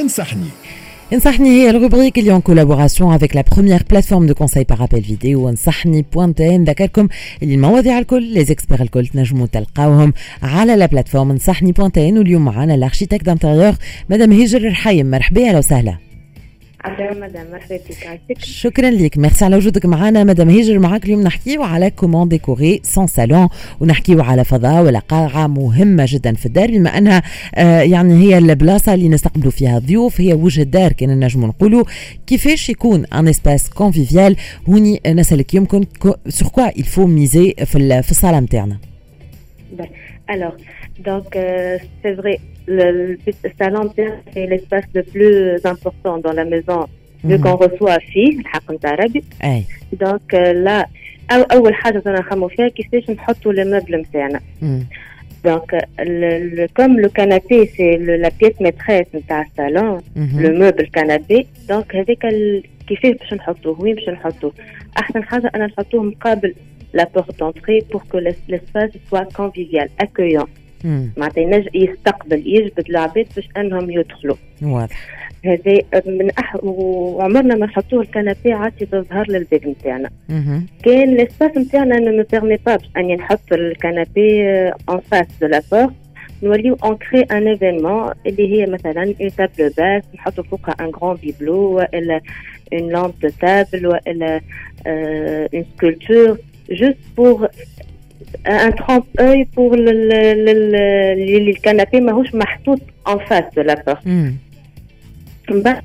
انصحني هي الروبريك اللي en collaboration avec la première plateforme de conseil par appel vidéo انصحني.tn. نذكركم اللي المواضيع الكل les experts الكل تنجموا تلقاوهم على لا بلاتفورم انصحني.tn. واليوم معنا الاركيتكت دانتيريور مدام هجر الرحيم. مرحبا، اهلا وسهلا. مدام مرحبا بك. شكرا لك، ميرسي على وجودك معنا مدام هجر. معاك اليوم نحكيو على كومون ديكوري سون صالون، ونحكيو على فضاء ولا قاعة مهمة جدا في الدار، بما انها يعني هي البلاصة اللي نستقبلوا فيها الضيوف، هي وجه الدار كنا نجموا نقولوا. كيفاش يكون ان اسباس كونفيفيال؟ هوني نسألك يمكن سور كوا il faut miser في الصالة نتاعنا. Alors, donc c'est vrai, le salon c'est l'espace le plus important dans la maison, vu qu'on reçoit فيه الحق نتاع ربي. Donc là أول حاجة أنا نخمو فيها كيفاش نحطوا لي مeubles نتاعنا. Donc comme le canapé c'est la pièce maîtresse نتاع الصالون، le meuble canapé. Donc هذيك كيفاش باش نحطوه، وين باش نحطوه؟ أحسن حاجة أنا نحطوه مقابل la porte d'entrée pour que l'espace soit convivial, accueillant. معناتها يستقبل يجبد العباد باش انهم يدخلوا. واضح. هذا من وعمرنا ما نحطوه الكنبي عادي تظهر للباب نتاعنا. كان الاسباس نتاعنا ne me permet pas اني نحط الكنبي en face de la porte. نوليو اونكري ان ايفينمون اللي هي مثلا une table basse نحطوا فوقها un grand bibelot ولا une lampe de table ولا une sculpture juste pour un trompe-œil pour le canapé ماهوش محطوط en face de la porte. بعد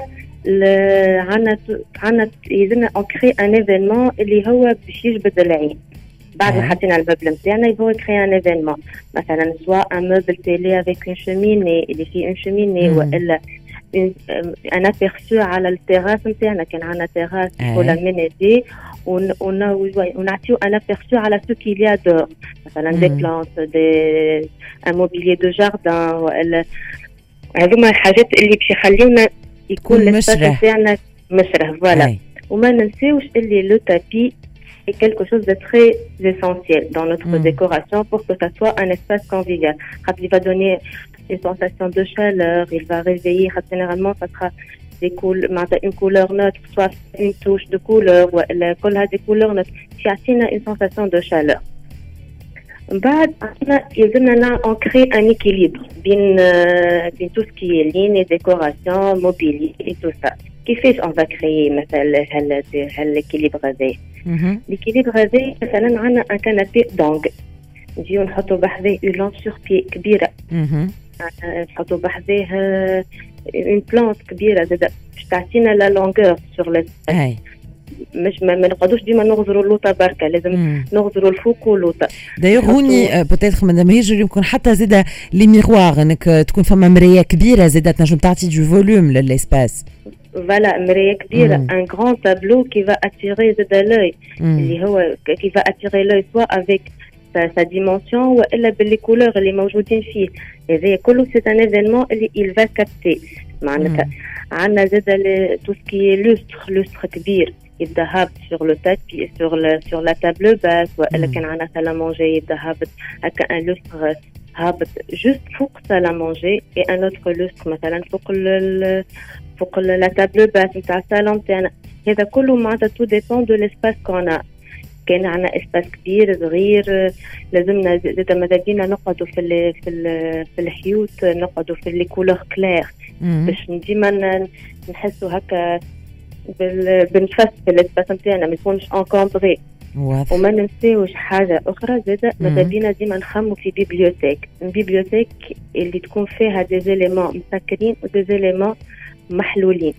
عنا يلزمنا اونكري ان ايفينمون اللي هو باش يجبد العين. بعد ما حطينا الباب نتاعنا هو كري ان ايفينمون، مثلا سواء ان موبل تيلي افيك اون شوميني اللي فيه اون شوميني ولا un aperçu على التراس نتاعنا. كان عندنا تراس ولا مينيدي ونعطيو un aperçu على ce qu'il y a dehors، مثلا des plantes un mobilier de jardin ولا هذوما الحاجات اللي باش يخليونا يكون الاسباس نتاعنا مشرح. فوالا. وما ننساوش اللي لو تابي est quelque chose de très essentiel dans notre décoration pour que ça soit un espace convivial. Il va donner une sensation de chaleur, il va réveiller. Généralement, ça sera une couleur neutre, soit une touche de couleur, ou des couleurs neutres, qui attirent une sensation de chaleur. On crée un équilibre bien tout ce qui est ligne, décoration, mobilier et tout ça. كيفاش on va créer مثلا l'équilibre هذا؟ l'équilibre هذا مثلا عندنا un canapé d'angle، نجيو نحطوا بحذاه une lampe sur pied كبيرة، نحطوا بحذاه une plante كبيرة زاد باش تعطينا la longueur sur l'espace. مش ما نقعدوش ديما نغزروا اللوطه بركه، لازم نغزروا الفوق واللوطه. دايوغ هوني بوتيتر مدام هجر يمكن حتى زاده لي ميغوار انك تكون فما مرايه كبيره زاده تنجم تعطي دو فوليوم للاسباس. Voilà, مرايه كبيره un grand tableau qui va attirer l'œil اللي هو qui va attirer l'œil soit avec sa dimension ولا باللي couleurs اللي موجودين فيه. هذا كله c'est un événement اللي il va capter. معناتها عندنا زاده tout ce qui est lustre كبير يبدا هابط sur le tapis sur la table basse، ولا كان عندنا salle à manger يبدا هابط هكا un lustre هابط juste فوق salle à manger et un autre lustre مثلا فوق la table basse نتاع الصالون نتاعنا. هذا كله معناتها tout dépend de l'espace qu'on a. كان عندنا اسباس كبير صغير لازمنا زاد ماذا بينا نقعدوا في الحيوط، نقعدوا في لي كولور كلير باش ديما نحسوا هكا بنفس في الاسباس نتاعنا ما يكونش انكومبري. وما ننساوش حاجه اخرى زاده ماذا بينا ديما نخمو في بيبليوتيك اللي تكون فيها دي زيليمون مسكرين ودي زيليمون محلولين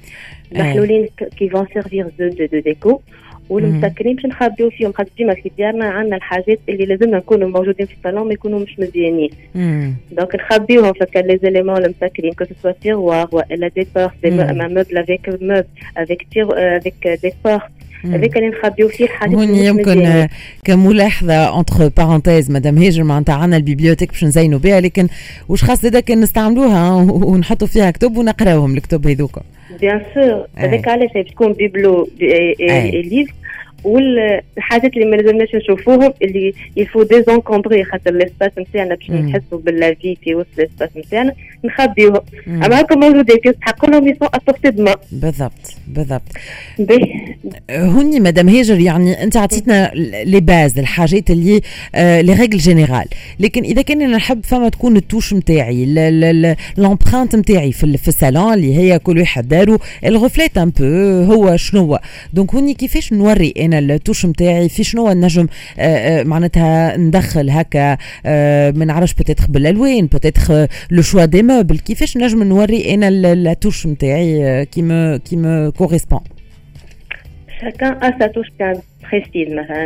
كي فون سيرفير دو ديكو، والمسكرين باش نخبيو فيهم خاطر ديما في ديارنا عندنا الحاجات اللي لازمنا نكونوا موجودين في الصالون ما يكونوا مش مزيانين. دونك نخبيوهم فكا لي زيليمون المسكرين كو سوا تيروار ولا دي بورت دي موبل افيك دي بورت هذاك اللي نخبيو فيه حاجات. هوني يمكن كملاحظه اونتر بارونتيز مدام هاجر معناتها عندنا البيبليوتيك باش نزينوا بها، لكن واش خاص هذاك نستعملوها ونحطوا فيها كتب ونقراوهم الكتب هذوك؟ بيان سور هذاك علاش باش تكون بيبلو ليف والحاجات اللي ما لازمناش نشوفوهم اللي يفو ديزونكومبري خاطر ليسباس نتاعنا باش نحسوا باللافي في وسط ليسباس نتاعنا نخبيوهم. اما هكا موجودين تحق لهم يسون ابورتي دما. بالضبط. هوني مدام هاجر يعني انت عطيتنا لي باز الحاجات اللي لي ريغل جينيرال، لكن اذا كان انا نحب فما تكون التوش نتاعي لامبرانت نتاعي في الصالون اللي هي كل واحد دارو الغفلات ان بو هو شنو. دونك هوني كيفاش نوري انا التوش نتاعي في شنو نجم معناتها ندخل هكا ما نعرفش بتاتخ بالالوان بتاتخ لو شوا دي موبل، كيفاش نجم نوري انا التوش نتاعي كي مو كوريسبون. Chacun a sa touche bien précise.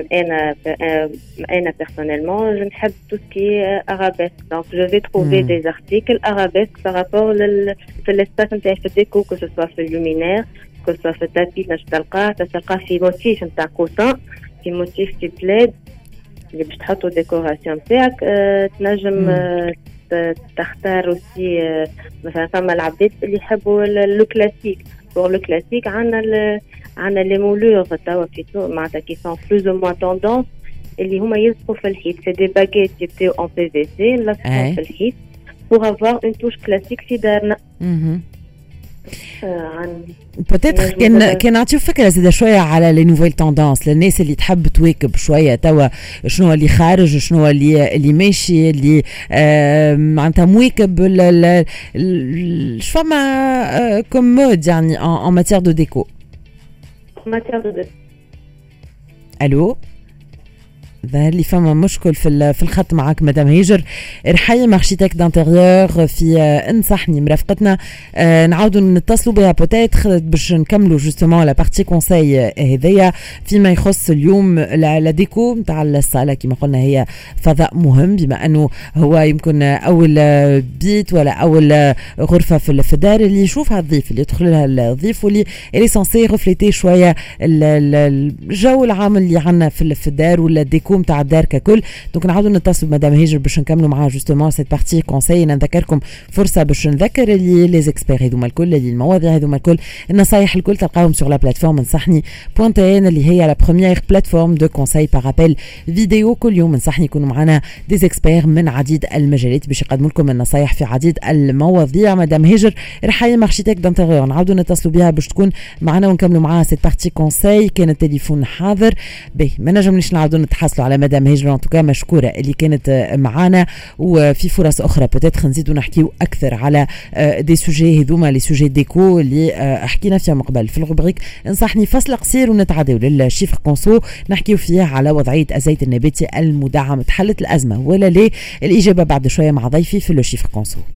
Moi, personnellement, je n'aime tout ce qui est arabesque. Donc, je vais trouver des articles arabesques par rapport à l'espace de déco, que ce soit le luminaire, que ce soit le tapis, تلقى في موتيف نتاع كوسان، في موتيف في بلاد اللي باش تحطوا ديكوراسيون نتاعك. تنجم تختار aussi مثلا فما العباد اللي يحبوا لو كلاسيك. pour le classique عندنا les moulures توا في سوق معناتها qui sont plus ou moins tendance اللي هما يلصقوا في الحيط. c'est des baguettes يبداو en PVC نلصقوا في الحيط pour avoir une touche classique في دارنا. بتاتخ كان نعطيو فكره زياده شويه على لي نوفيل توندونس للناس اللي تحب تواكب شويه توا شنو اللي خارج شنو اللي ماشي اللي معناتها مواكب شو فما كوم مود يعني en matière de déco. الو ظهر لي فما مشكل في الخط معك مدام هاجر. رحيم اركيتكت دانتيريور في انصحني مرافقتنا. نعاودوا نتصلوا بها بوتيتر باش نكملوا جوستومون لا بارتي كونساي هذيا فيما يخص اليوم لا ديكو نتاع الصاله. كما قلنا هي فضاء مهم بما انه هو يمكن اول بيت ولا اول غرفه في الدار اللي يشوفها الضيف اللي يدخل لها الضيف واللي اللي سانسي ريفليتي شويه الجو العام اللي عندنا في الدار ولا الديكو نتاع الدار ككل. دونك نعاودوا نتصلوا بمدام هاجر باش نكملوا معها جوستومون سيت بارتي كونساي. نذكركم فرصه باش نذكر اللي لي زيكسبير هذوما الكل اللي المواضيع هذوما الكل النصايح الكل تلقاهم sur la plateforme نصحني .n اللي هي لا بروميير بلاتفورم دو كونساي بارابيل فيديو. كل يوم نصحني يكونوا معنا دي زيكسبير من عديد المجالات باش يقدموا لكم النصايح في عديد المواضيع. مدام هاجر رحيم اركيتكت دانتيريور نعاودوا نتصلوا بها باش تكون معنا ونكملوا معها سيت بارتي كونساي. كان التليفون حاضر به ما نجمناش نعاودوا نتحصلوا على مدام هاجر. ان توكا مشكوره اللي كانت معانا وفي فرص اخرى بوتيتر نزيدوا نحكيو اكثر على دي سوجي هذوما لي سوجي ديكو اللي حكينا فيها من قبل في الروبريك. انصحني فصل قصير ونتعداو للشيفر كونسو نحكيو فيه على وضعيه الزيت النباتي المدعم. تحلت الازمه ولا ليه؟ الاجابه بعد شويه مع ضيفي في الشيفر كونسو.